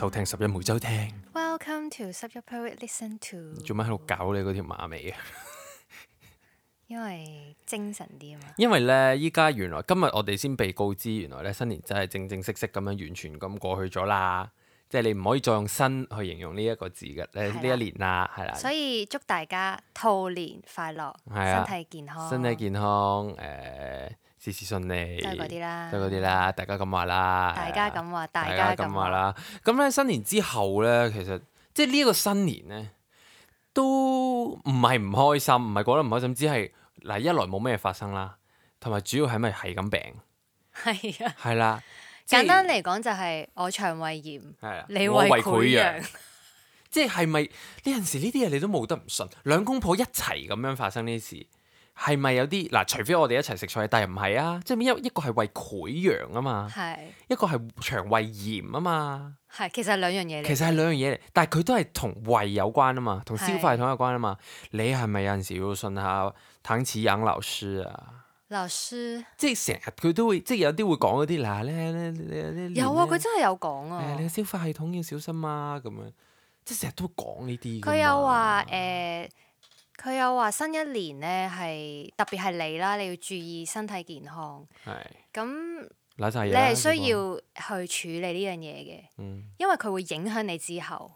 收聽十一每週聽。 Welcome to 十一 per week listen to。 做乜喺度搞你嗰條馬尾啊？ 因為精神啲啊嘛。 因為咧，依家原來今日我哋先被告知，原來咧新年真係正正式式咁樣完全咁過去咗啦。即係你唔可以再用新去形容呢一個字嘅呢一年啦，係啦。 所以祝大家兔年快樂，身體健康， 身體健康，事事順利， 都係嗰啲啦， 都係嗰啲啦。大家咁話啦， 大家咁話， 大家咁話啦。咁咧新年之後咧，其實即係呢一個新年咧，都唔係唔開心，唔係覺得唔開心，只係嗱一來冇咩發生啦，同埋主要係咪係咁病？ 係啊， 係啦。 簡單嚟講就係我腸胃炎，你胃潰瘍。 即係咪呢陣時呢啲嘢你都冇得唔信？兩公婆一齊咁樣發生呢啲事，係咪有啲嗱？除非我哋一齊食菜，但係唔係啊？即係一個係胃潰瘍啊嘛，一個係腸胃炎啊嘛， 係其實係兩樣嘢嚟。 其實係兩樣嘢嚟，但係佢都係同胃有關啊嘛，同消化系統有關啊嘛。你係咪有陣時要信下唐綺陽老師啊？ 老師即係成日佢都會，即係有啲會講嗰啲嗱咧， 有啊，佢真係有講啊。 你嘅消化系統要小心啊，咁樣即係成日都會講呢啲。 佢有話新一年咧係特別係你啦，你要注意身體健康。係咁，你係需要去處理呢樣嘢嘅，因為佢會影響你之後。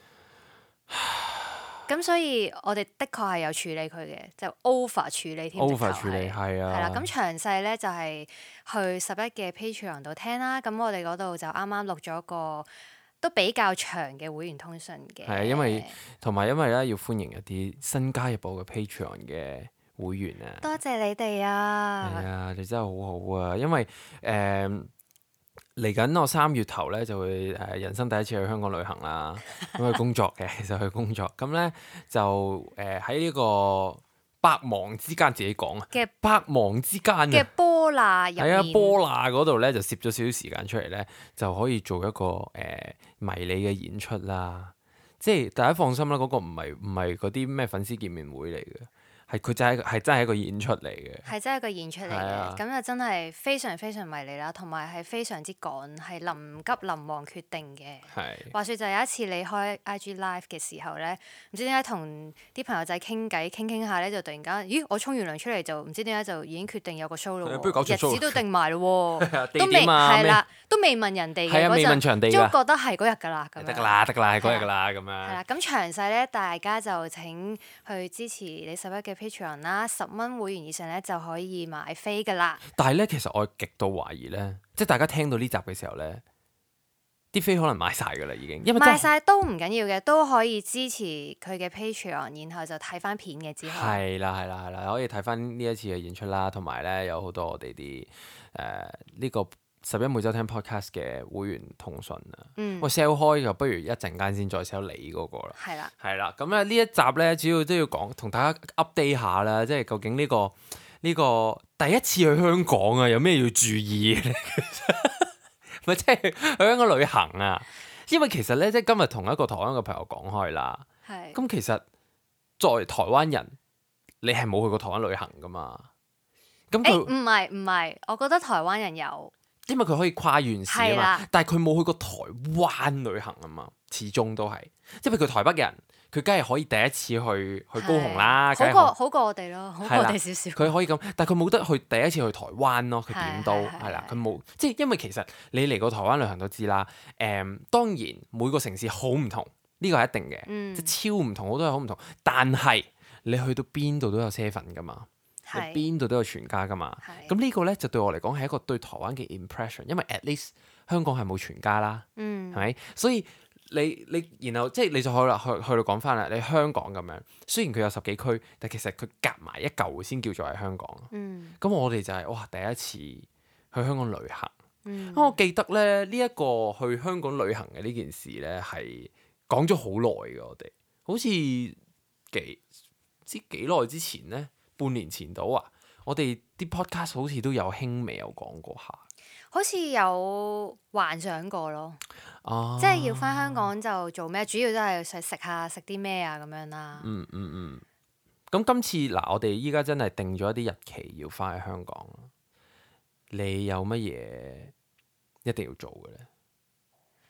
咁所以我哋的確係有處理佢嘅，就 over 處理添。 over 處理係啊。 係啦，咁詳細咧就係去十一嘅 Patreon 度聽啦。咁我哋嗰度就啱啱錄咗個都比較長嘅會員通訊嘅。係啊，因為咧要歡迎一啲新加入我嘅 Patreon 嘅會員啊。 多謝你哋啊！ 係啊，你真係好好啊，因為嚟緊我3月頭咧就會人生第一次去香港旅行啦，咁去工作嘅，其實去工作，咁咧就喺呢個百忙之間自己講啊，百忙之間嘅波罅入面， 係啊，波罅嗰度咧就攝咗少少時間出嚟咧，就可以做一個迷你嘅演出啦。即係大家放心啦，嗰個唔係嗰啲咩粉絲見面會嚟嘅。佢真係一個演出嚟嘅， 係真係一個演出嚟嘅，咁就真係非常非常迷你啦，同埋係非常之趕，係臨急臨忙決定嘅。話說就有一次你開 IG Live 嘅時候咧，唔知點解同啲朋友仔傾偈傾下咧，就突然間，咦！我沖完涼出嚟就唔知點解就已經決定有個 show 咯，日子都定埋咯，都未係啦，都未問人哋嘅嗰陣，都覺得係嗰日㗎啦，咁樣得㗎啦，係嗰日㗎啦，咁樣。係啦，咁詳細咧，大家就請去支持你十一嘅Patreon 啦，10蚊會員以上咧就可以買飛噶啦。 但係咧，其實我極度懷疑咧，即係大家聽到呢集嘅時候咧，啲飛可能買晒噶啦，已經。因為買晒都唔緊要嘅，都可以支持佢嘅 Patreon，然後就睇翻片嘅之後。 係啦，可以睇翻呢一次嘅演出啦，同埋咧有好多我哋啲呢個十一每週聽 podcast 嘅會員通訊啊。我 sell 開就不如一陣間先再 sell 你嗰個啦。係啦，咁咧呢一集咧主要都要講同大家 update 下啦，即係究竟呢個第一次去香港啊，有咩要注意嘅？咪即係去香港旅行啊？因為其實咧，即係今日同一個台灣嘅朋友講開啦。咁其實作為台灣人，你係冇去過台灣旅行噶嘛？咁佢唔係，我覺得台灣人有。因為佢可以跨縣市啊嘛，但係佢冇去過台灣旅行啊嘛，始終都係，即係譬如佢台北人，佢梗係可以第一次去高雄啦， 好過我哋咯，好過我哋少少。 佢可以咁，但係佢冇得去第一次去台灣咯，佢點都係啦，佢冇，即係因為其實你嚟過台灣旅行都知啦，當然每個城市好唔同，呢個係一定嘅，即係超唔同，好多嘢好唔同，但係你去到邊度都有7-11噶嘛。你邊度都有全家噶嘛？咁呢個咧就對我嚟講係一個對台灣嘅 impression，因為 at least 香港係冇全家啦，係咪？所以你然後即係你就去到講翻啦，你香港咁樣，雖然佢有10幾區，但其實佢夾埋一嚿先叫做係香港。咁我哋就係哇第一次去香港旅行。咁我記得咧呢一個去香港旅行嘅呢件事咧係講咗好耐嘅，我哋好似幾耐之前咧。半年前到啊，我哋啲 podcast 好似都有輕微有講過下， 好似有幻想過咯，即係要翻香港就做咩？主要都係食啲咩啊咁樣啦。 咁今次嗱，我哋依家真係定咗一啲日期要翻去香港，你有乜嘢一定要做嘅咧？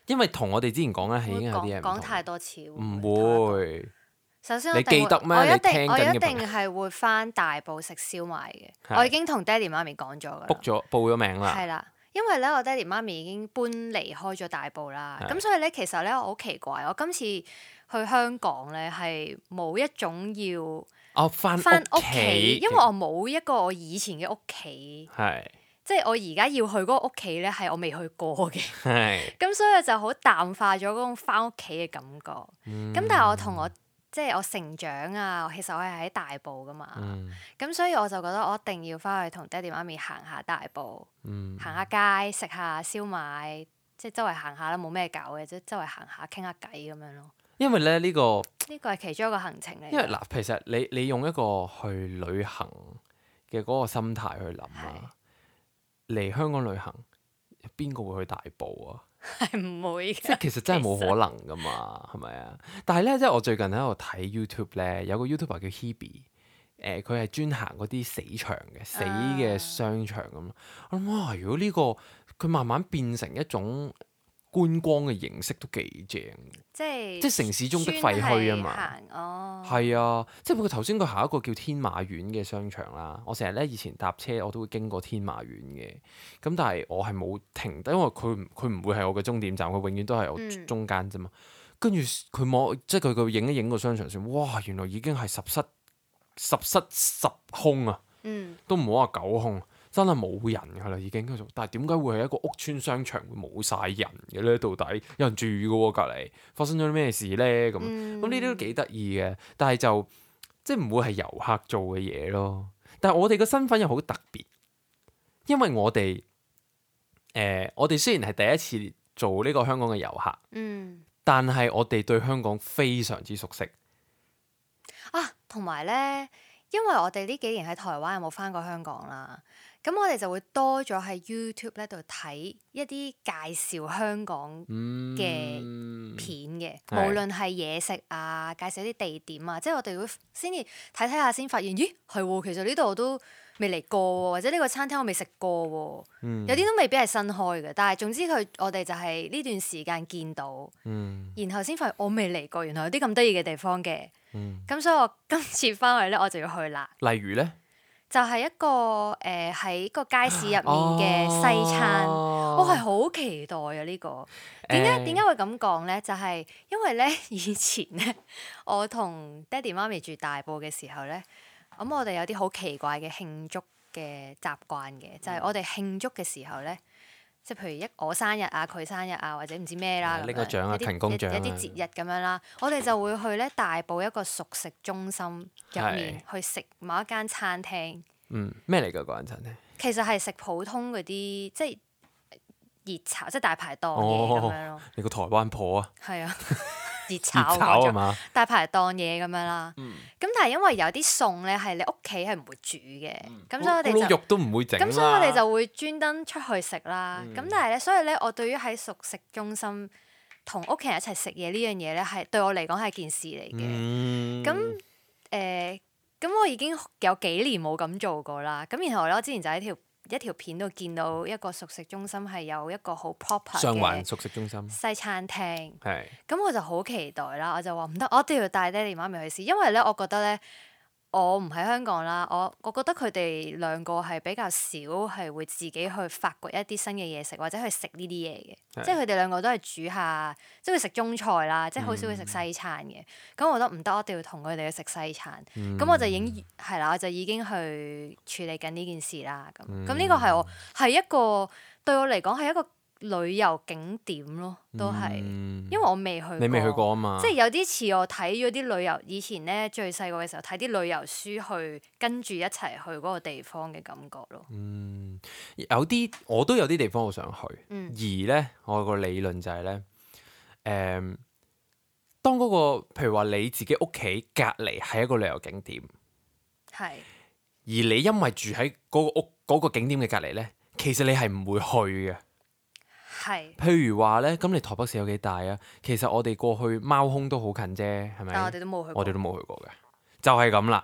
因為同我哋之前講咧係已經有啲嘢唔同。 講太多次喎。 唔會。 首先你記得咩？ 我一你定係會翻大埔食燒賣嘅。我已經同爹哋媽咪講咗㗎啦。 報咗名啦。 係啦，因為咧我爹哋媽咪已經搬離開咗大埔啦。咁所以咧其實咧我好奇怪，我今次去香港咧係冇一種要翻屋企，因為我冇一個我以前嘅屋企。 係。 即係我而家要去嗰個屋企咧，係我未去過嘅。 係。 咁所以我就好淡化咗嗰種翻屋企嘅感覺。咁但係我即係我成長啊，其實我係喺大埔噶嘛。咁所以我就覺得我一定要翻去同爹哋媽咪行下大埔，行下街，食下燒賣，即係周圍行下啦，冇咩搞嘅，即係周圍行下傾下偈咁樣咯。 因為咧呢個係其中一個行程嚟。 因為嗱，其實你用一個去旅行嘅嗰個心態去諗啊，嚟香港旅行，邊個會去大埔啊？ 係唔會嘅。 即係其實真係冇可能噶嘛，係咪啊？但係咧，即係我最近喺度睇 YouTube 咧，有個 YouTuber 叫 Hebe，佢係專行嗰啲死場嘅死嘅商場咁。我諗哇，如果呢個佢慢慢變成一種觀光嘅形式都幾正，即係城市中的廢墟啊嘛。係啊，即係佢頭先佢行一個叫天馬苑嘅商場啦。我成日咧以前搭車我都會經過天馬苑嘅，咁但係我係冇停低，因為佢唔會係我嘅終點站，佢永遠都係我中間啫嘛。跟住佢望，即係佢影一影個商場先，哇！原來已經係十室十空啊，都唔好話九空。真係冇人㗎啦，已經。但係點解會係一個屋村商場會冇晒人嘅咧？到底有人住嘅喎，隔離發生咗啲咩事咧？咁呢啲都幾得意嘅，但係就即係唔會係遊客做嘅嘢咯。但係我哋嘅身份又好特別，因為我哋雖然係第一次做呢個香港嘅遊客，但係我哋對香港非常之熟悉啊。同埋咧，因為我哋呢幾年喺台灣有冇返過香港啦。咁我哋就會多咗喺 YouTube 咧度睇一啲介紹香港嘅片嘅，無論係嘢食啊，介紹啲地點啊，即係我哋會先至睇下先發現，咦係喎，其實呢度我都未嚟過喎，或者呢個餐廳我未食過喎，有啲都未必係新開嘅，但係總之我哋就係呢段時間見到，然後先發現我未嚟過，原來有啲咁得意嘅地方嘅，咁所以我今次翻去咧我就要去啦。 例如咧？ 就係一個喺個街市入面嘅西餐，我係好期待啊！呢個點解會咁講咧？就係因為咧以前咧，我同爹哋媽咪住大埔嘅時候咧，咁我哋有啲好奇怪嘅慶祝嘅習慣嘅，就係我哋慶祝嘅時候咧，即係譬如我生日啊、佢生日啊，或者唔知咩啦， 拎個獎啊、勤工獎啊， 一啲節日咁樣啦，我哋就會去咧大埔一個熟食中心入面去食某一間餐廳。 咩嚟㗎嗰間餐廳？ 其實係食普通嗰啲即係熱炒，即係大排檔嘢咁樣咯。 你個台灣婆啊？係啊，熱炒啊嘛， 大排檔嘢咁樣啦。咁但係因為有啲餸咧係你屋企係唔會煮嘅，咁所以我哋就肉都唔會整啦。 咁所以我哋就會專登出去食啦。咁但係咧，所以咧，我對於喺熟食中心同屋企人一齊食嘢呢樣嘢咧，係對我嚟講係件事嚟嘅。咁我已經有幾年冇咁做過啦。咁然後咧，我之前就喺一條片度見到一個熟食中心係有一個好 proper 嘅上環熟食中心西餐廳。 係。咁我就好期待啦，我就話唔得，我一定要帶爹哋媽咪去試，因為咧，我覺得咧。我唔喺香港啦，我覺得佢哋兩個係比較少係會自己去發掘一啲新嘅嘢食，或者去食呢啲嘢嘅。即係佢哋兩個都係煮下，即係會食中菜啦，即係好少會食西餐嘅。咁我覺得唔得，我一定要同佢哋去食西餐。咁我就已經係啦，我就已經去處理緊呢件事啦。咁呢個係一個對我嚟講係一個旅遊景點咯，都係，因為我未去過。 你未去過啊嘛？ 即係有啲似我睇咗啲旅遊，以前咧最細個嘅時候睇啲旅遊書去跟住一齊去嗰個地方嘅感覺咯。 有啲我都有啲地方好想去，而咧我有個理論就係咧，當嗰個譬如話你自己屋企隔離係一個旅遊景點，係，而你因為住喺嗰個屋嗰個景點嘅隔離咧，其實你係唔會去嘅。譬如話咧，咁你台北市有幾大啊？其實我哋過去貓空都好近啫，係咪？ 但我哋都冇去過。 我哋都冇去過嘅，就係咁啦。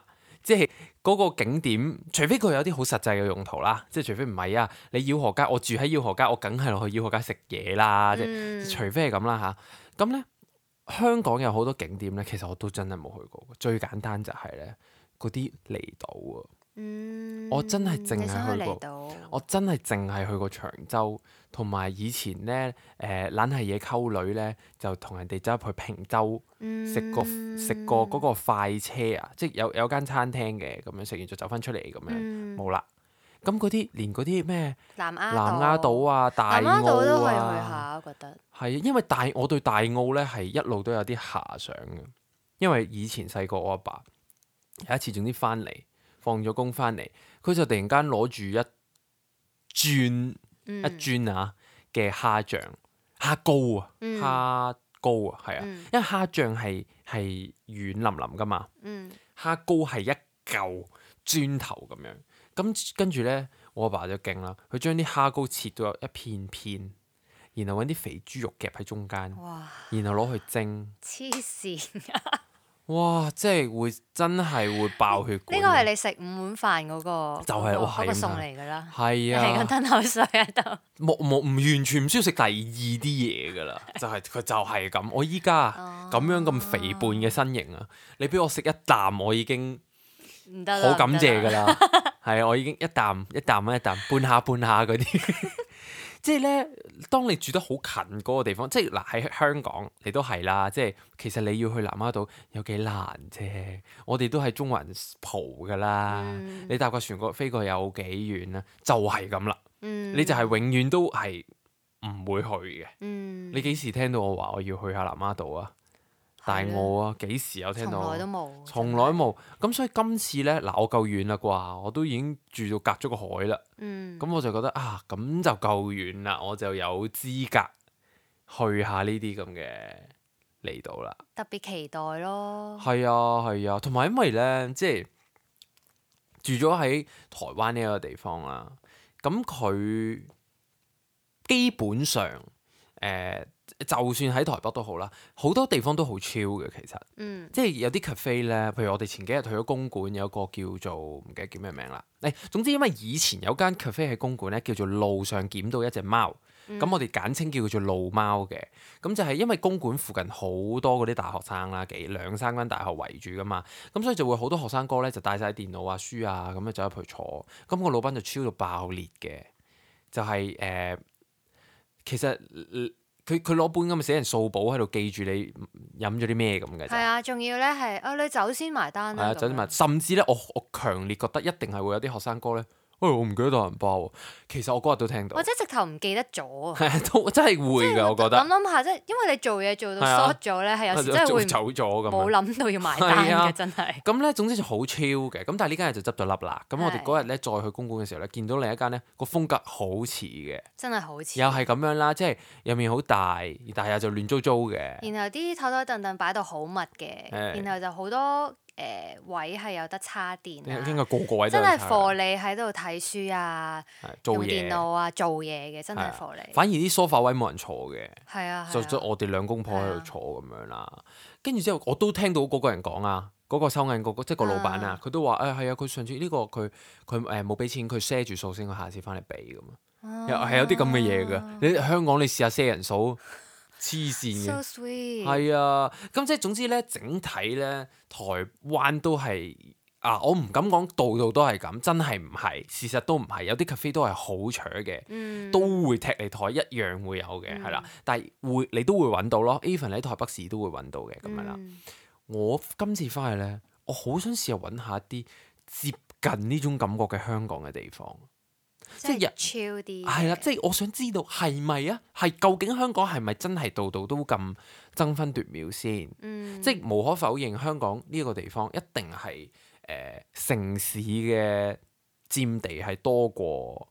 即係嗰個景點，除非佢有啲好實際嘅用途啦，即係除非唔係啊，你饒河街，我住喺饒河街，我梗係落去饒河街食嘢啦，即係除非係咁啦嚇。咁咧香港有好多景點咧，其實我都真係冇去過。最簡單就係咧嗰啲離島啊。我真係淨係去過，我真係淨係去過長洲，同埋以前咧懶係嘢溝女咧，就同人哋走入去坪洲食過嗰個快車啊，即係有間餐廳嘅，咁樣食完就走翻出嚟咁樣，冇啦。咁嗰啲連嗰啲咩南丫島啊、大澳啊，南丫島都可以去下，我覺得係因為我對大澳咧係一路都有啲遐想嘅，因為以前細個我阿爸有一次總之翻嚟。放咗工翻嚟，佢就突然間攞住一磚嘅蝦醬、蝦膏啊、蝦膏啊，係啊，因為蝦醬係軟腍腍噶嘛，蝦膏係一嚿磚頭咁樣。咁跟住咧，我阿爸就勁啦，佢將啲蝦膏切到一片片，然後揾啲肥豬肉夾喺中間，然後攞去蒸。黐線啊！哇！即係真係會爆血管。呢個係你食5碗飯嗰個就係嗰個餸嚟㗎啦。係啊，係咁吞口水喺度。唔完全唔需要食第二啲嘢㗎啦，佢就係咁。我依家咁樣咁肥胖嘅身形啊，你俾我食一啖，我已經好感謝㗎啦。係啊，我已經一啖半下嗰啲。即係咧，當你住得好近嗰個地方，即係嗱喺香港，你都係啦。即係其實你要去南丫島有幾難啫？我哋都係中環蒲㗎啦。你搭個船飛過有幾遠咧？就係咁啦。你就係永遠都係唔會去嘅。你幾時聽到我話我要去下南丫島啊？大澳啊，幾時有聽到？從來都冇。從來冇。咁所以今次咧，嗱我夠遠啦啩，我都已經住到隔咗個海啦。咁我就覺得啊，咁就夠遠啦，我就有資格去下呢啲咁嘅離島啦。特別期待咯。係啊，同埋因為咧，即係住咗喺台灣呢一個地方啦，咁佢基本上就算喺台北都好啦，好多地方都好 chill 嘅其實，即係有啲 cafe 咧，譬如我哋前幾日去咗公館，有個叫做唔記得叫咩名啦。總之因為以前有間 cafe 喺公館咧，叫做路上撿到一隻貓，咁我哋簡稱叫做路貓嘅。咁就係因為公館附近好多嗰啲大學生啦，2-3間大學圍住噶嘛，咁所以就會好多學生哥咧就帶晒電腦啊、書啊咁樣走入去坐，咁個老闆就 chill 到爆裂嘅，就係其實佢攞本咁嘅死人數簿喺度記住你飲咗啲咩咁嘅。係啊，仲要咧係你走先埋單啦。係啊，走先埋，甚至咧我強烈覺得一定係會有啲學生哥咧。我唔記得帶銀包喎。其實我嗰日都聽到，或者直頭唔記得咗。都真係會㗎，我覺得。諗下，即係因為你做嘢做到 short 咗咧，係有時真係會走咗咁。冇諗到要埋單嘅，真係。咁咧，總之就好 chill 嘅。咁但係呢間嘢就執咗笠啦。咁我哋嗰日咧再去公館嘅時候咧，見到另一間咧個風格好似嘅，真係好似。又係咁樣啦，即係入面好大，但係又就亂糟糟嘅。然後啲枱枱凳凳擺到好密嘅，然後就好多。位係有得插電啊！應該個位都真係貨你喺度睇書啊，用電腦啊，做嘢嘅真係貨你。反而啲梳化位冇人坐嘅，係啊，就我哋兩公婆喺度坐咁樣啦。跟住之後，我都聽到嗰個人講啊，嗰個收銀即係個老闆啊，佢都話係啊，佢上次呢個佢冇俾錢，佢賒住數先，佢下次翻嚟俾咁啊，又係有啲咁嘅嘢㗎。你香港你試下賒人數。黐線嘅，係啊，咁即係總之咧，整體咧，台灣都係我唔敢講度度都係咁，真係唔係，事實都唔係，有啲 cafe 都係好搶嘅，都會踢你台，一樣會有嘅，係啦，但係你都會揾到咯 even 喺台北市都會揾到嘅咁樣啦。我今次翻去咧，我好想試下揾下一啲接近呢種感覺嘅香港嘅地方。即係 chill 啲，係啦，即係我想知道係咪啊？係究竟香港係咪真係度度都咁爭分奪秒先？即係無可否認，香港呢個地方一定係城市嘅佔地係多過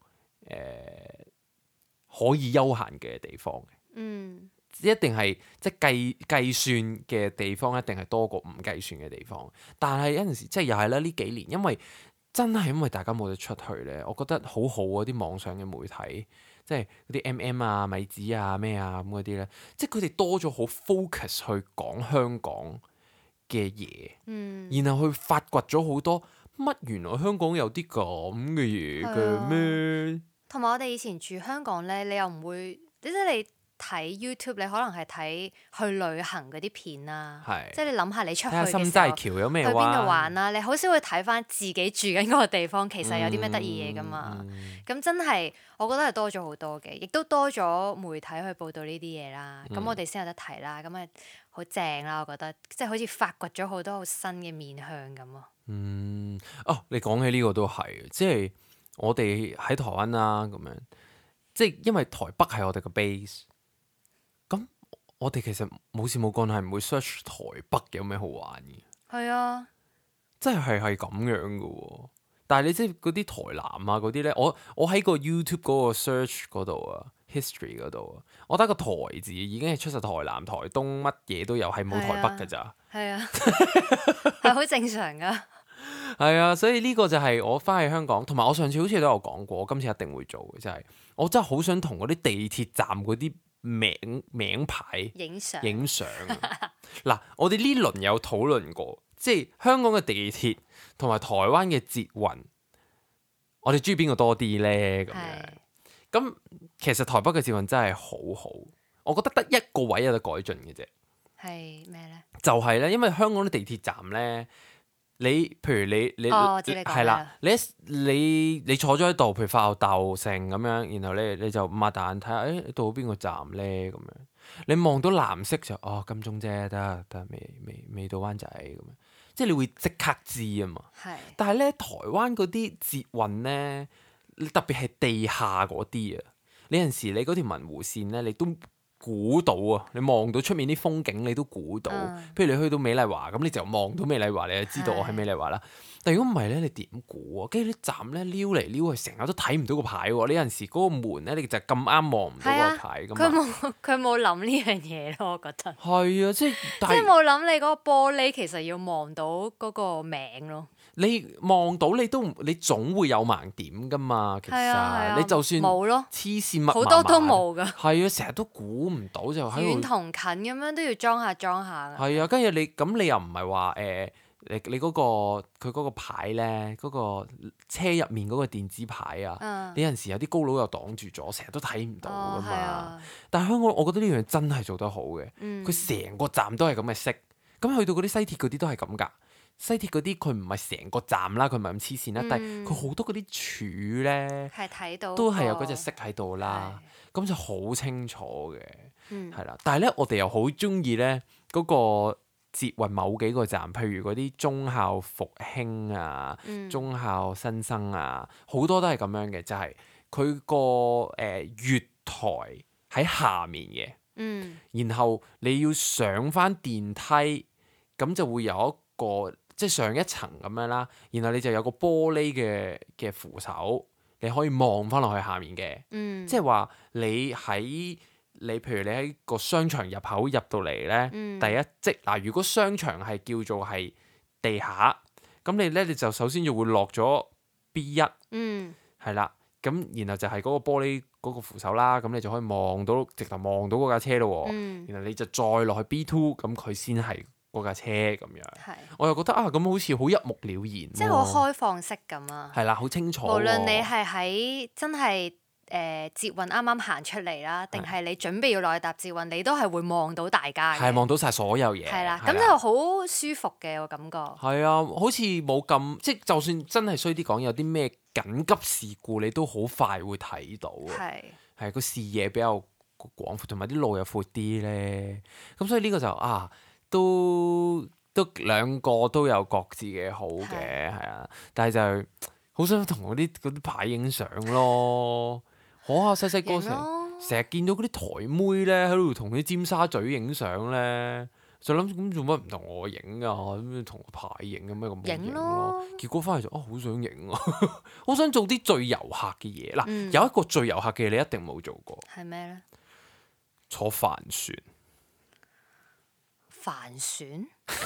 可以休閒嘅地方嘅。一定係即係計算嘅地方一定係多過唔計算嘅地方。但係有陣時即係又係啦，呢幾年因為大家冇得出去咧，我覺得好好啊！啲網上嘅媒體，即係嗰啲 MM 啊、米子啊、咩啊咁嗰啲咧，即係佢哋多咗好 focus 去講香港嘅嘢，然後去發掘咗好多乜原來香港有啲咁嘅嘢嘅咩？ 同埋我哋以前住香港咧，你又唔會，即係你睇 YouTube，你可能係睇去旅行嗰啲片啦，即係你諗下你出去嘅時候， 心齋橋有咩去邊度玩啦？你好少會睇翻自己住緊嗰個地方，其實有啲咩得意嘢噶嘛？咁真係我覺得係多咗好多嘅，亦都多咗媒體去報導呢啲嘢啦。咁我哋先有得睇啦，咁啊好正啦！我覺得即係好似發掘咗好多好新嘅面向咁啊。 你講起呢個都係，即係我哋喺台灣啦，咁樣即係因為台北係我哋嘅 base。咁我哋其實冇事冇幹係唔會 search 台北有咩好玩嘅。 係啊， 真係咁樣嘅喎。但係你即係嗰啲台南啊嗰啲咧，我喺個 YouTube 嗰個 search 嗰度啊 history 嗰度啊，我得個台字已經係出晒台南、台東乜嘢都有，係冇台北㗎咋。 係啊，係好正常㗎。 係啊，所以呢個就係我翻去香港，同埋我上次好似都有講過，我今次一定會做嘅，就係我真係好想同嗰啲地鐵站嗰啲名牌影相。嗱，我哋呢輪有討論過，即係香港嘅地鐵同埋台灣嘅捷運，我哋中意邊個多啲呢？咁其實台北嘅捷運真係好好，我覺得得一個位有得改進嘅啫。係咩呢？就係咧，因為香港啲地鐵站呢，譬如你係啦，你坐咗喺度，譬如發吽哣成咁樣，然後你就擘大眼睇下，你到邊個站呢？咁樣你望到藍色就金鐘啫，得未到灣仔咁樣，即係你會即刻知啊嘛。但係咧，台灣嗰啲捷運咧，特別係地下嗰啲啊，你有陣時你嗰條文湖線咧，你都估到啊！你望到出面啲風景，你都估到。譬如你去到美麗華咁，你就望到美麗華，你就知道我喺美麗華啦。但如果唔係咧，你點估啊？跟住啲站咧撩嚟撩去，成日都睇唔到個牌喎。你有陣時嗰個門咧，你就咁啱望唔到個牌噶嘛。 佢冇諗呢樣嘢咯，我覺得。 係啊，即係冇諗你嗰個玻璃其實要望到嗰個名咯。 你望到你總會有盲點噶嘛。其實你就算冇咯，黐線密好多都冇噶。 係啊，成日都估唔到就喺度遠同近咁樣都要裝下㗎。 係啊，跟住你又唔係話你嗰個佢嗰個牌咧，嗰個車入面嗰個電子牌啊，你有陣時有啲高佬又擋住咗，成日都睇唔到噶嘛。但係香港，我覺得呢樣真係做得好嘅。佢成個站都係咁嘅色，咁去到嗰啲西鐵嗰啲都係咁㗎。西鐵嗰啲佢唔係成個站啦，佢唔係咁黐線啦，但係佢好多嗰啲柱咧，係睇到都係有嗰隻色喺度啦，咁就好清楚嘅，係啦。但係咧，我哋又好中意咧嗰個捷運某幾個站，譬如嗰啲忠孝復興啊、忠孝新生啊，好多都係咁樣嘅，就係佢個月台喺下面嘅，然後你要上返電梯，咁就會有一個即係上一層咁樣啦，然後你就有個玻璃嘅扶手，你可以望翻落去下面嘅，即係話你譬如你喺個商場入口入到嚟咧，第一即嗱，如果商場係叫做係地下，咁你就首先就會落咗 B1，係啦，咁然後就係嗰個玻璃嗰個扶手啦，咁你就可以直頭望到嗰架車咯，然後你就再落去 B2，咁佢先係嗰架車咁樣，我又覺得咁好似好一目了然，即係好開放式咁啊！ 係啦，好清楚。無論你係喺真係捷運啱啱行出嚟啦，定係你準備要落去搭捷運，你都係會望到大家嘅，係望到晒所有嘢。 係啦，咁就好舒服嘅，我感覺。係啊，好似冇咁，即係就算真係衰啲講，有啲咩緊急事故，你都好快會睇到。係個視野比較廣闊，同埋啲路又闊啲咧。咁所以呢個就都兩個都有各自嘅好嘅，係啊，但係就好想同嗰啲牌影相咯。細細個成日見到嗰啲台妹咧喺度同啲尖沙咀影相咧，就諗咁做乜唔同我影啊？咁同個牌影咁咩咁影咯？結果翻嚟就好想影啊！好想做啲最遊客嘅嘢。嗱，有一個最遊客嘅嘢你一定冇做過， 係咩咧？ 坐帆船。 帆船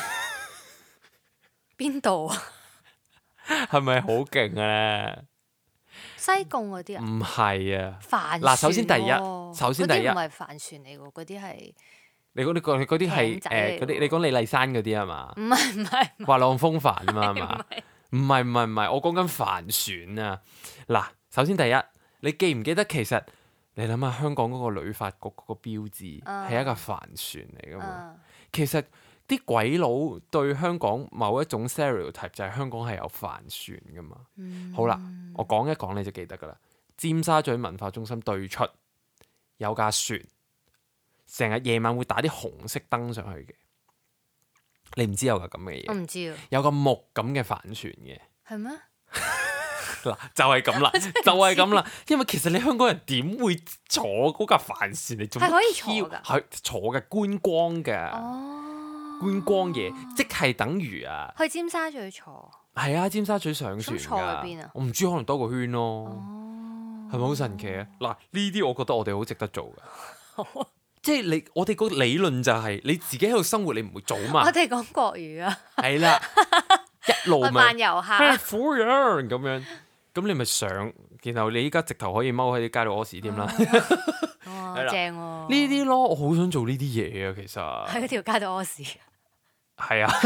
邊度啊？ 係咪好勁咧？ 西貢嗰啲啊？唔係啊！ 帆船首先第一嗰啲唔係帆船嚟㗎，嗰啲係你嗰啲係你講李麗珊嗰啲係嘛？ 唔係滑浪風帆啊嘛係嘛？唔唔係，我講緊帆船啊！嗱，首先第一，你記唔記得其實你諗下香港嗰個旅發局嗰個標誌係一個帆船嚟噶嘛？其實啲鬼佬對香港某一種 stereotype 就係香港係有帆船噶嘛。好啦，我講一講你就記得噶啦。尖沙咀文化中心對出有架船，成日夜晚會打啲紅色燈上去嘅。你唔知有個咁嘅嘢？ 我唔知啊。 有個木咁嘅帆船嘅。 係咩？ 嗱，就係咁啦，就係咁啦。因為其實你香港人點會坐嗰架帆船嚟做乜？係可以坐㗎，係坐嘅觀光嘅。觀光嘢，即係等於啊。 去尖沙咀坐。係啊，尖沙咀上船㗎。 坐喺邊啊？ 我唔知，可能兜個圈咯。係咪好神奇啊？嗱，呢啲我覺得我哋好值得做㗎。即係我哋個理論就係你自己喺度生活，你唔會做嘛。 我哋講國語啊。係啦，一路咪扮遊客。 苦樣咁樣，咁你咪上，然後你依家直頭可以踎喺啲街度屙屎添啦。 哇，正喎！呢啲咯，我好想做呢啲嘢啊，其實。 喺條街度屙屎。 係啊。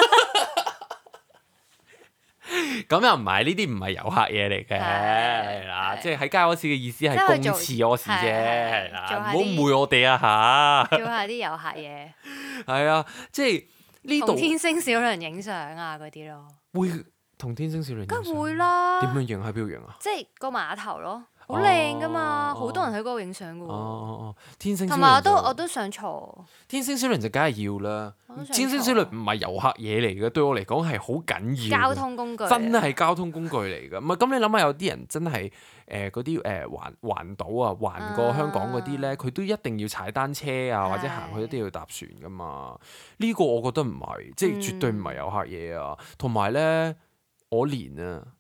咁又唔係，呢啲唔係遊客嘢嚟嘅，係啦，即係喺街屙屎嘅意思係公廁屙屎啫，係啦，唔好誤會我哋啊嚇。 做下啲遊客嘢。 係啊，即係呢度。 同天星小輪影相啊嗰啲咯。會同天星小輪影相。 梗會啦。 點樣影？喺邊度影啊？ 即係個碼頭咯。好靚噶嘛，好多人喺嗰度影相噶喎。 天星小輪同埋我都想坐。 天星小輪就梗係要啦。天星小輪唔係遊客嘢嚟嘅，對我嚟講係好緊要。 交通工具。 真係交通工具嚟㗎。唔係咁，你諗下有啲人真係嗰啲環島啊，環過香港嗰啲咧，佢都一定要踩單車啊，或者行去一定要搭船㗎嘛。呢個我覺得唔係，即係絕對唔係遊客嘢啊。同埋咧，我連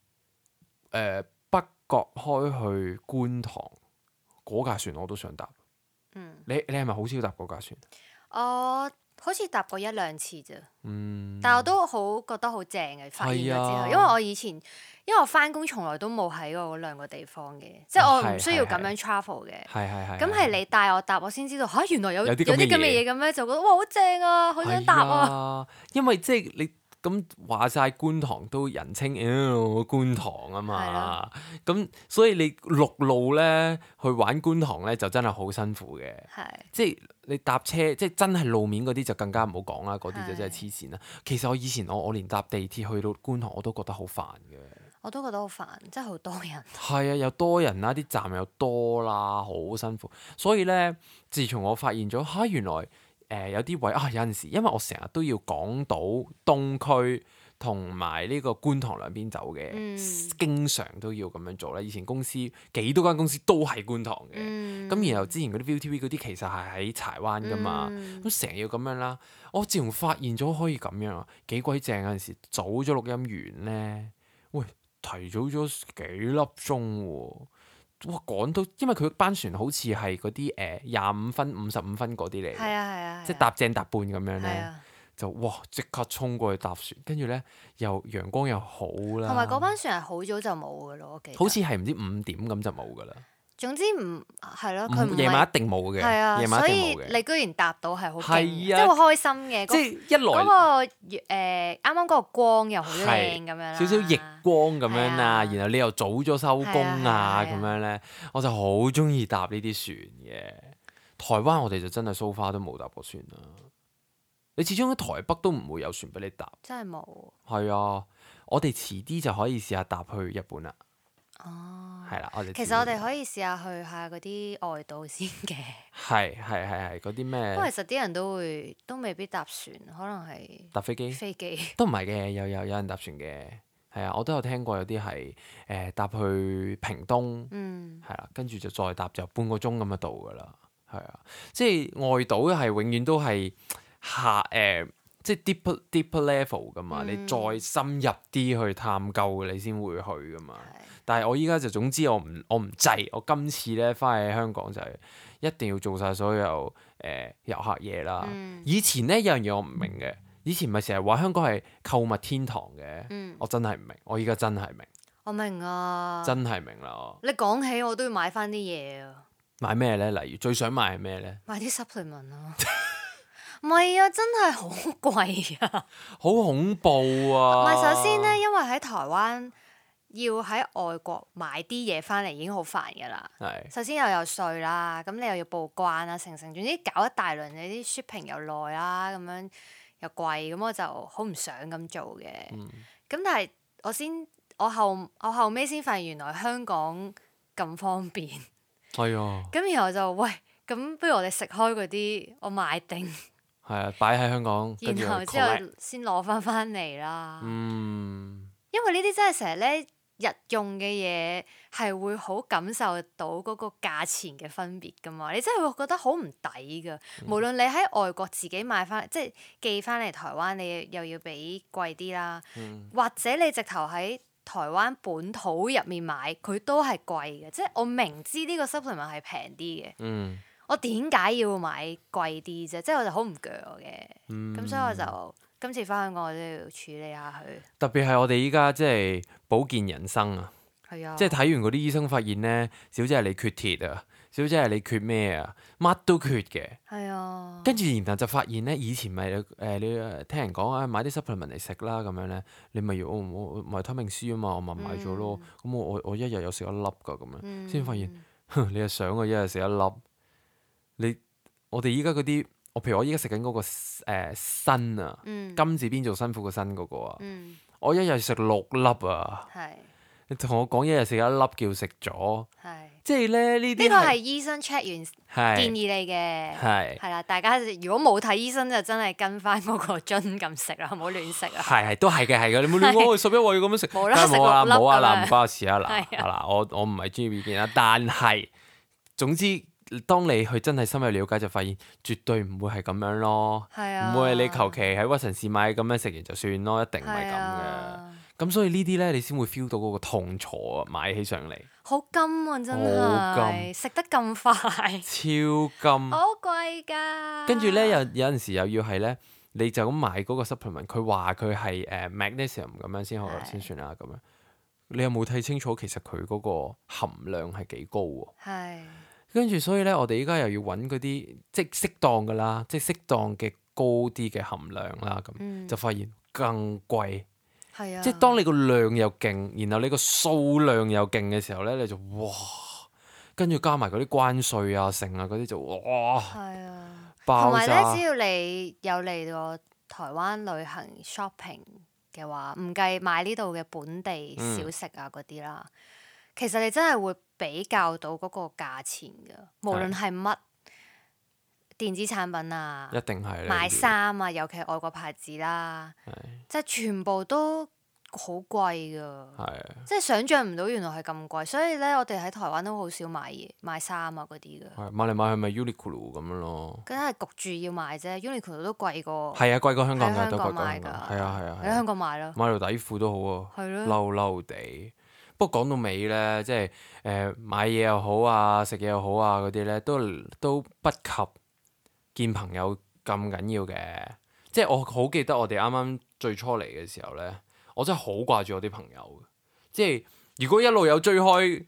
國開去觀塘嗰架船我都想搭。你係咪好少搭嗰架船？ 我好似搭過一兩次啫。但係我都覺得好正嘅，發現咗之後，因為我以前我翻工從來都冇喺過嗰兩個地方嘅，即係我唔需要咁樣 travel 嘅。咁係你帶我搭，我先知道嚇原來有啲咁嘅嘢咁樣，就覺得哇好正啊，好想搭啊！ 因為即係你。咁話晒觀塘都人稱觀塘啊嘛，咁所以你陸路咧去玩觀塘咧就真係好辛苦嘅，即係你搭車即係真係路面嗰啲就更加唔好講啦，嗰啲就真係黐線啦。其實我以前我連搭地鐵去到觀塘我都覺得好煩嘅， 我都覺得好煩，真係好多人。 係啊，又多人啦，啲站又多啦，好辛苦。所以咧，自從我發現咗原來。有啲位有陣時，因為我成日都要港島東區同埋呢個觀塘兩邊走嘅，經常都要咁樣做啦。以前公司幾多間公司都係觀塘嘅，咁然後之前嗰啲 ViuTV 嗰啲其實係喺柴灣噶嘛，咁成日要咁樣啦。我自從發現咗可以咁樣啊，幾鬼正！有陣時早咗錄音完咧，喂，提早咗幾粒鐘喎。哇！趕到，因為佢班船好似係嗰啲25分、55分嗰啲嚟，即係搭正搭半咁樣咧，就哇即刻衝過去搭船，跟住咧又陽光又好啦。 同埋嗰班船係好早就冇噶咯，我記得。 好似係唔知5點咁就冇噶啦。 總之唔係咯，佢夜晚一定冇嘅，夜晚一定冇嘅。 所以你居然搭到係好勁，即係好開心嘅。 即係一來嗰個啱啱嗰個光又好靚咁樣， 少少逆光咁樣啊，然後你又早咗收工啊咁樣咧，我就好中意搭呢啲船嘅。台灣我哋就真係 so far 都冇搭過船啦。你始終喺台北都唔會有船俾你搭， 真係冇。 係啊，我哋遲啲就可以試下搭去日本啦。係啦， 其實我哋可以試下去下嗰啲外島先嘅。 係嗰啲咩？ 不過其實啲人都未必搭船，可能係搭飛機。 飛機都唔係嘅，有人搭船嘅。係啊，我都有聽過有啲係搭去屏東，係啦，跟住就再搭就半個鐘咁就到噶啦。係啊，即係外島係永遠都係即係 deeper level 噶嘛，你再深入啲去探究你先會去噶嘛。但係我依家就總之我唔制，我今次咧翻去香港就係一定要做晒所有遊客嘢啦。以前咧有樣嘢我唔明嘅，以前咪成日話香港係購物天堂嘅，我真係唔明，我依家真係明。 我明啊， 真係明啦。 你講起我都要買翻啲嘢啊。 買咩咧？例如最想買係咩咧？ 買啲 supplement 啊。 唔係啊，真係好貴啊！ 好恐怖啊！ 唔係，首先咧，因為喺台灣要喺外國買啲嘢翻嚟已經好煩㗎啦。 係。 首先又有稅啦，咁你又要報關啦，總之搞一大輪，你啲 shipping 又耐啦，咁樣又貴，咁我就好唔想咁做嘅。咁但係我後尾先發現原來香港咁方便。 係啊。 咁然後就喂，咁不如我哋食開嗰啲，我買定。 係啊，擺喺香港， 然後之後先攞翻嚟啦。因為呢啲真係成日咧日用嘅嘢係會好感受到嗰個價錢嘅分別㗎嘛，你真係會覺得好唔抵㗎。無論你喺外國自己買翻，即係寄翻嚟台灣，你又要俾貴啲啦，或者你直頭喺台灣本土入面買，佢都係貴嘅。即係我明知呢個 supplement 係平啲嘅。我點解要買貴啲啫？即係我就好唔鋸嘅，咁所以我就今次翻香港我都要處理下佢。 特別係我哋依家即係保健人生啊，即係睇完嗰啲醫生發現咧，小姐係你缺鐵啊，小姐係你缺咩啊，乜都缺嘅。 係啊。跟住然後就發現咧，以前咪你聽人講啊，買啲 supplement 嚟食啦咁樣咧，你咪要我維他命 C 啊嘛，我咪買咗咯。咁我一日有食一粒㗎咁樣，先發現你係想我一日食一粒。我哋依家嗰啲，譬如我依家食緊嗰個辛啊，金字邊做辛苦個辛嗰個啊，我一日食6粒啊。你同我講一日食一粒叫食咗，即係咧呢啲。呢個係醫生 check 完建議你嘅，係啦。大家如果冇睇醫生就真係跟翻嗰個樽咁食啦，唔好亂食啊。 係都係嘅，你冇亂講，11位要咁樣食。 冇啦，食6粒。 冇啊嗱，唔關我事啊嗱，我唔係專業意見啦，但係總之。當你去真係深入了解，就發現絕對唔會係咁樣咯，唔會係你求其喺屈臣氏買咁樣食完就算咯，一定唔係咁嘅。咁所以呢啲咧，你先會 feel 到嗰個痛楚啊，買起上嚟。好金啊，真係食得咁快， 超金， 好貴㗎。 跟住咧，有陣時又要係咧，你就咁買嗰個 supplement，佢話佢係magnesium 咁樣先算啦咁樣。你有冇睇清楚其實佢嗰個含量係幾高喎？跟住，所以咧，我哋依家又要揾嗰啲即係適當㗎啦，即係適當嘅高啲嘅含量啦，咁就發現更貴。即係當你個量又勁，然後你個數量又勁嘅時候咧，你就哇，跟住加埋嗰啲關稅啊、剩啊嗰啲就哇，爆炸。同埋咧，只要你有嚟過台灣旅行 shopping 嘅話，唔計買呢度嘅本地小食啊嗰啲啦。其實你真係會比較到嗰個價錢㗎，無論係乜電子產品啊， 一定係買衫啊，尤其係外國牌子啦，即係全部都好貴㗎，即係想像唔到原來係咁貴，所以咧我哋喺台灣都好少買嘢、買衫啊嗰啲㗎。 買嚟買去咪 Uniqlo 咁樣咯。 梗係焗住要買啫 ，Uniqlo 都貴過。 係啊，貴過香港㗎，都貴過香港。係啊，喺香港買咯。 買條底褲都好啊，嬲嬲地。不過講到尾咧，即係買嘢又好啊，食嘢又好啊嗰啲咧，都不及見朋友咁緊要嘅。即係我好記得我哋啱啱最初嚟嘅時候咧，我真係好掛住我啲朋友。即係如果一路有追開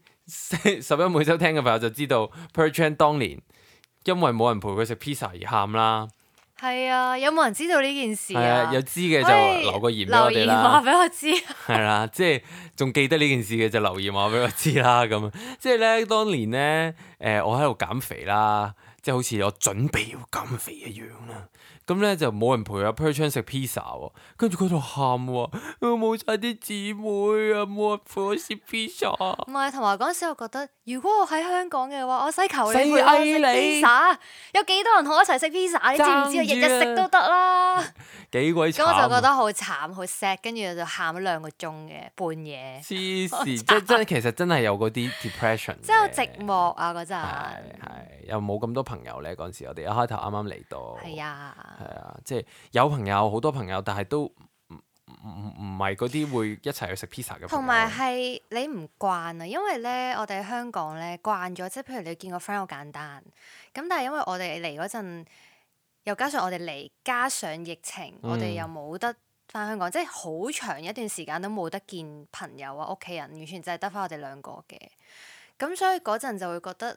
11每週聽嘅朋友就知道 Perchan 當年因為冇人陪佢食 pizza 而喊啦。 係啊，有冇人知道呢件事啊？ 有知嘅就留個言俾我哋啦。留言話俾我知。 係啦，即係仲記得呢件事嘅就留言話俾我知啦。咁即係咧，當年咧，我喺度減肥啦，即係好似我準備要減肥一樣啦。咁咧就冇人陪阿 Perchan 食 pizza 喎，跟住佢喺度喊喎，冇晒啲姊妹啊，冇人陪我食 pizza。唔係，同埋嗰陣時我覺得，如果我喺香港嘅話，我使求你陪我食 pizza，有幾多人同我一齊食 pizza？你知唔知啊？日日食都得啦。 幾鬼慘！ 咁我就覺得好慘，好 sad，跟住就喊咗2個鐘嘅半夜。 黐線，真其實真係有嗰啲 depression。 即係好寂寞啊！嗰陣係又冇咁多朋友咧。嗰陣時我哋一開頭啱啱嚟到。 係啊。 係啊，即係有朋友，好多朋友，但係都唔係嗰啲會一齊去食 pizza 嘅朋友。 同埋係你唔慣啊，因為咧我哋喺香港咧慣咗，即係譬如你見個 friend 好簡單，咁但係因為我哋嚟嗰陣，又加上我哋嚟，加上疫情，我哋又冇得翻香港，即係好長一段時間都冇得見朋友啊、屋企人，完全就係得翻我哋2個嘅。咁所以嗰陣就會覺得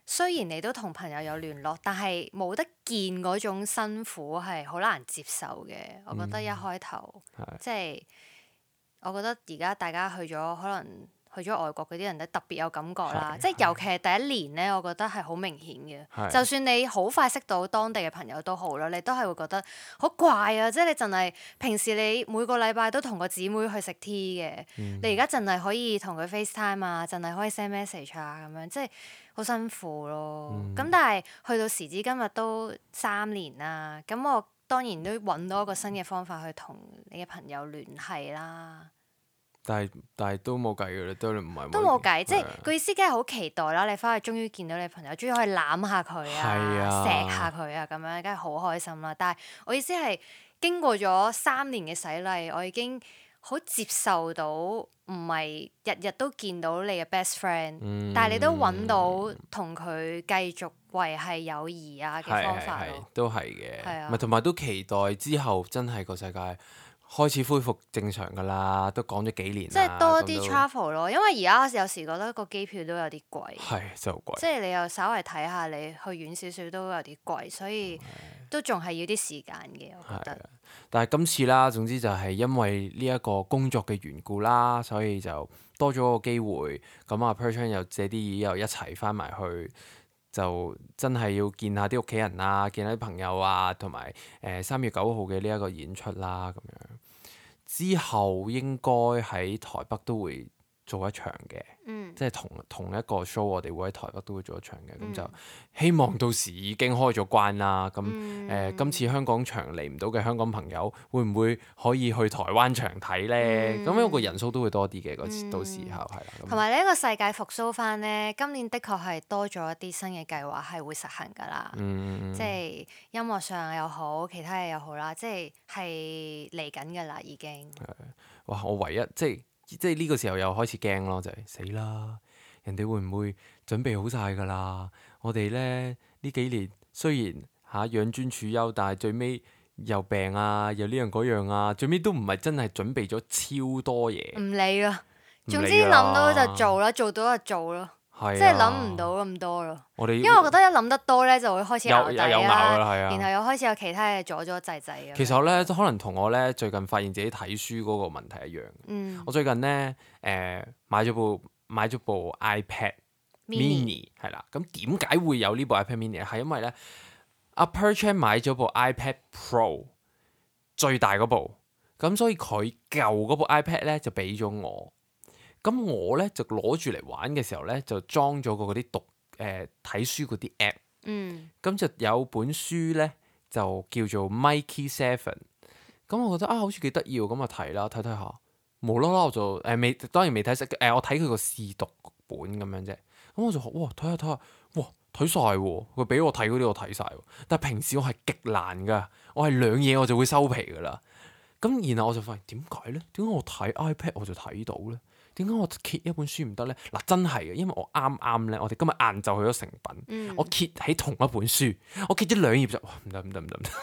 雖然你都同朋友有聯絡，但係冇得見嗰種辛苦係好難接受嘅。我覺得一開頭，即係我覺得而家大家去咗可能。去咗外國嗰啲人咧特別有感覺啦，即係尤其係第一年咧，我覺得係好明顯嘅。就算你好快識到當地嘅朋友都好啦，你都係會覺得好怪啊！即係你淨係平時你每個禮拜都同個姊妹去食 tea 嘅，你而家淨係可以同佢 FaceTime 啊，淨係可以 send message 啊咁樣，即係好辛苦咯。咁但係去到時至今日都3年啦，咁我當然都揾到一個新嘅方法去同你嘅朋友聯繫啦。 但係都冇計嘅啦，都唔係都冇計，即係個意思，梗係好期待啦！你翻去終於見到你朋友，終於可以攬下佢啊，錫下佢啊，咁樣梗係好開心啦！但係我意思係經過咗3年嘅洗禮，我已經好接受到唔係日日都見到你嘅 best friend，但係你都揾到同佢繼續維繫友誼啊嘅方法咯。 都係嘅， 係啊， 咪同埋都期待之後真係個世界開始恢復正常㗎啦，都講咗幾年啦。 即係多啲 travel 咯，因為而家有時覺得個機票都有啲貴。 係真係好貴。即係你又稍微睇下，你去遠少少都有啲貴，所以都仲係要啲時間嘅，我覺得。 但係今次啦，總之就係因為呢一個工作嘅緣故啦，所以就多咗個機會。咁啊 Per Chan 又借啲嘢又一齊翻埋去。就真係要見下啲屋企人啊，見下啲朋友啊，同埋3月9號嘅呢一個演出啦，咁樣之後應該喺台北都會做一場嘅，即係同一個 show，我哋會喺台北都會做一場嘅，咁就希望到時已經開咗關啦。咁今次香港場嚟唔到嘅香港朋友，會唔會可以去台灣場睇咧？咁因為個人數都會多啲嘅，到時候係啦。 同埋呢個世界復甦翻咧，今年的確係多咗一啲新嘅計劃係會實行㗎啦。即係音樂上又好，其他嘢又好啦，即係嚟緊㗎啦已經。 哇！我唯一即係呢個時候又開始驚咯，就係死啦！人哋會唔會準備好晒㗎啦？我哋咧呢幾年雖然養尊處優，但係最尾又病啊，又呢樣嗰樣啊，最尾都唔係真係準備咗超多嘢。 唔理啦，總之諗到就做啦，做到就做咯。即係諗唔到咁多咯。因為我覺得一諗得多咧，就會開始咬底啦，然後又開始有其他嘢阻滯滯。 其實咧，可能同我咧最近發現自己睇書嗰個問題一樣。我最近咧買咗部 iPad Mini 係啦。咁點解會有呢部 iPad Mini 咧？係因為咧阿 Per Chan 買咗部 iPad Pro 最大嗰部，咁所以佢舊嗰部 iPad 咧就俾咗我。咁我咧就攞住嚟玩嘅時候咧，就裝咗個嗰啲睇書嗰啲 app。咁就有本書咧就叫做 Mikey 7。咁我覺得好似幾得意喎，咁啊睇啦，睇下，無啦啦我就當然未睇晒，我睇佢個試讀本咁樣啫。咁我就哇睇下，哇睇晒喎，佢俾我睇嗰啲我睇晒喎。但係平時我係極難噶，我係兩嘢我就會收皮噶啦。咁然後我就發現點解咧？點解我睇 iPad 我就睇到咧？點解我揭一本書唔得咧？嗱，真係嘅，因為我啱啱咧，我哋今日晏晝去咗誠品，我揭起同一本書，我揭咗2頁就哇唔得。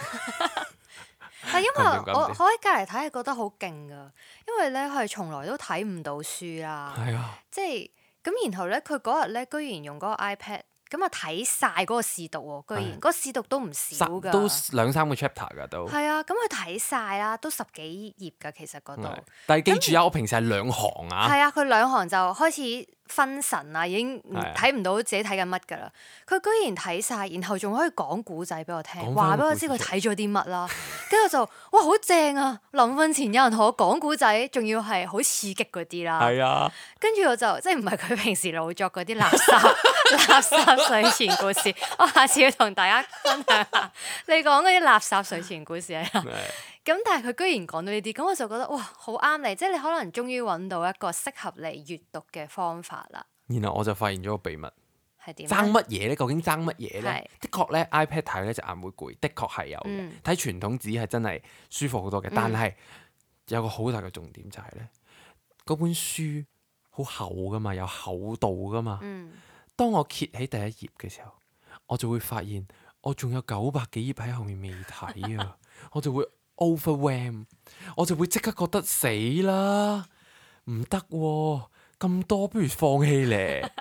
係因為我喺隔離睇係覺得好勁噶，因為咧佢係從來都睇唔到書啦。係啊，即係咁，然後咧佢嗰日咧居然用嗰個 iPad。咁啊睇晒嗰個試讀喎，居然嗰個試讀都唔少㗎， 都2-3個 chapter 㗎都。 係啊，咁佢睇晒啦，都10幾頁㗎，其實嗰度。 但係記住啊，我平時係2行啊。 係啊，佢2行就開始分神啊，已經睇唔到自己睇緊乜㗎啦。佢居然睇晒，然後仲可以講古仔俾我聽，話俾我知佢睇咗啲乜啦。跟住就哇好正啊！臨瞓前有人同我講古仔，仲要係好刺激嗰啲啦。係啊。跟住我就即係唔係佢平時老作嗰啲垃圾睡前故事，我下次要同大家分享下你講嗰啲垃圾睡前故事啊。咁但係佢居然講到呢啲，咁我就覺得哇好啱你，即係你可能終於揾到一個適合你閱讀嘅方法啦。 然後我就發現咗個秘密係點？ 爭乜嘢咧？究竟爭乜嘢咧？的確咧 iPad 睇咧隻眼會攰，的確係有嘅。睇傳統紙係真係舒服好多嘅，但係有個好大嘅重點就係咧，嗰本書好厚噶嘛，有厚度噶嘛。當我揭起第一頁嘅時候，我就會發現我仲有900幾頁喺後面未睇啊！我就會 overwhelm， 我就會即刻覺得死啦，唔得喎，咁多不如放棄咧。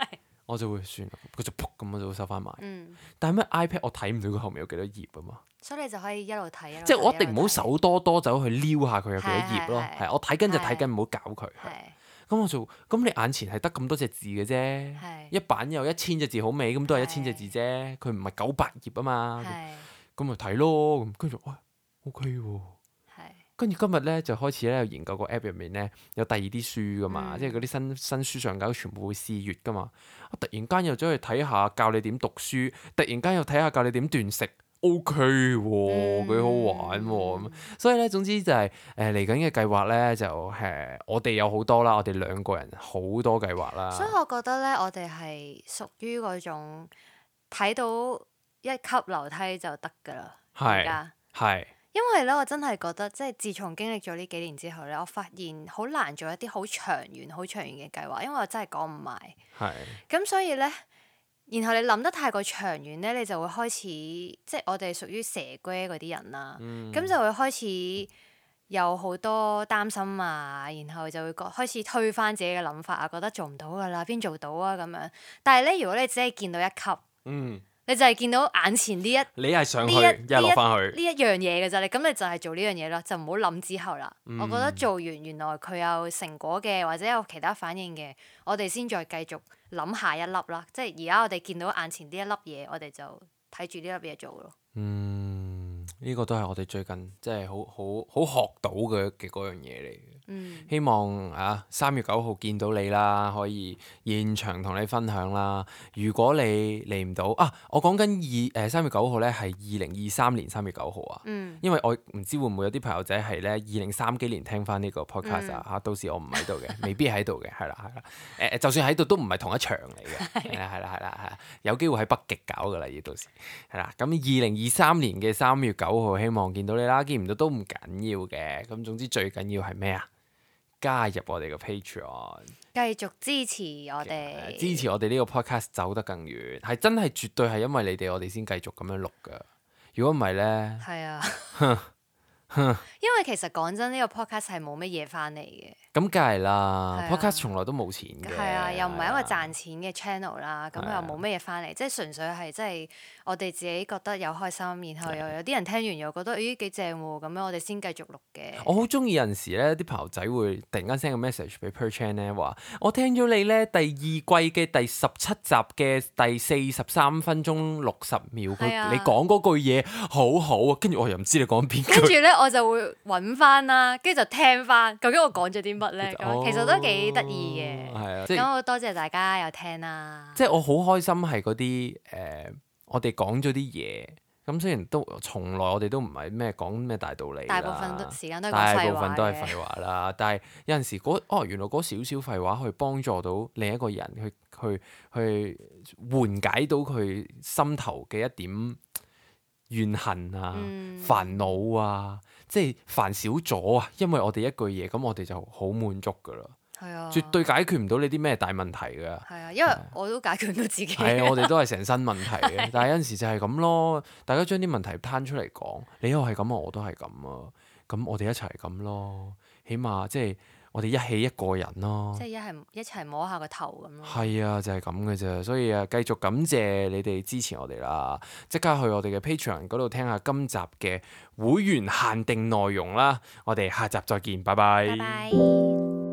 我就會算啦，佢就噗咁我就會收翻埋。但係咩 iPad 我睇唔到佢後面有幾多頁啊嘛。 所以你就可以一路睇， 即係我一定唔好手多多走去撩下佢有幾多頁咯。係我睇緊就睇緊，唔好搞佢。咁你眼前係得咁多隻字嘅啫，一版有1000隻字好美，咁都係1000隻字啫。佢唔係900頁啊嘛。咁咪睇咯。咁跟住OK 喎。跟住今日咧就開始咧研究個 app 入面咧有第二啲書噶嘛，即係嗰啲新書上架全部會試閱噶嘛。我突然間又走去睇下教你點讀書，突然間又睇下教你點斷食 ，OK 喎，幾好玩喎。咁所以咧總之就係嚟緊嘅計劃咧就我哋有好多啦，我哋2個人好多計劃啦。 所以我覺得咧，我哋係屬於嗰種睇到一級樓梯就得噶啦，而家係。因為咧，我真係覺得，即係自從經歷咗呢幾年之後咧，我發現好難做一啲好長遠、好長遠嘅計劃，因為我真係講唔埋。咁所以咧，然後你諗得太過長遠咧，你就會開始，即係我哋屬於蛇龜嗰啲人啦。咁就會開始有好多擔心啊，然後就會開始推翻自己嘅諗法啊，覺得做唔到噶啦，邊做到啊咁樣。但係咧，如果你只係見到一級，你就係見到眼前呢你係上去，一落翻去呢一樣嘢嘅啫。咁你就係做呢樣嘢咯，就唔好諗之後啦。我覺得做完原來佢有成果嘅，或者有其他反應嘅，我哋先再繼續諗下一粒啦。即係而家我哋見到眼前呢一粒嘢，我哋就睇住呢粒嘢做咯。 呢個都係我哋最近即係好學到嘅嗰樣嘢嚟嘅。希望3月9號見到你啦，可以現場同你分享啦。如果你嚟唔到我講緊3月9號咧係2023年3月9號啊。因為我唔知會唔會有啲朋友仔係咧2030幾年聽翻呢個 podcast 到時我唔喺度嘅，未必喺度嘅，係啦。就算喺度都唔係同一場嚟嘅，係啦，有機會喺北極搞噶啦，到時係啦。咁2023年嘅3月9號，希望見到你啦。見唔到都唔緊要嘅，咁總之最緊要係咩啊？加入我哋嘅 Patreon， 繼續支持我哋， 支持我哋呢個 podcast 走得更遠，係真係絕對係因為你哋我哋先繼續咁樣錄噶。如果唔係咧， 係啊，因為其實講真，呢個 podcast 係冇乜嘢翻嚟嘅。 咁梗係啦，podcast 從來都冇錢嘅。 係啊，又唔係一個賺錢嘅 channel 啦，咁又冇乜嘢翻嚟，即係純粹係即係我哋自己覺得有開心，然後又有啲人聽完又覺得咦幾正喎，咁樣我哋先繼續錄嘅。 我好中意有陣時咧，啲朋友仔會突然間 send 個 message 俾 Per Chan 咧，話我聽咗你咧第2季嘅第17集嘅第43分鐘60秒，你講嗰句嘢好好啊，跟住我又唔知你講邊句。 跟住咧我就會揾翻啦，跟住就聽翻，究竟我講咗啲乜咧？咁其實都幾得意嘅。咁好多謝大家有聽啦。 即係我好開心係嗰啲我哋講咗啲嘢，咁雖然都從來我哋都唔係咩講咩大道理啦， 大部分時間都係廢話啦。但係有陣時原來嗰少少廢話可以幫助到另一個人去緩解到佢心頭嘅一點怨恨啊、煩惱啊，即係煩少咗啊！因為我哋一句嘢，咁我哋就好滿足噶啦。係啊，絕對解決唔到你啲咩大問題㗎。係啊，因為我都解決唔到自己。 係啊，我哋都係成身問題嘅。但係有陣時就係咁咯，大家將啲問題攤出嚟講，你又係咁啊，我都係咁啊，咁我哋一齊係咁咯，起碼即係我哋一起一個人咯。 即係一齊摸下個頭咁咯。 係啊，就係咁嘅啫。所以繼續感謝你哋支持我哋啦，即刻去我哋嘅 Patreon 嗰度聽下今集嘅會員限定內容啦。我哋下集再見，拜拜。 拜拜。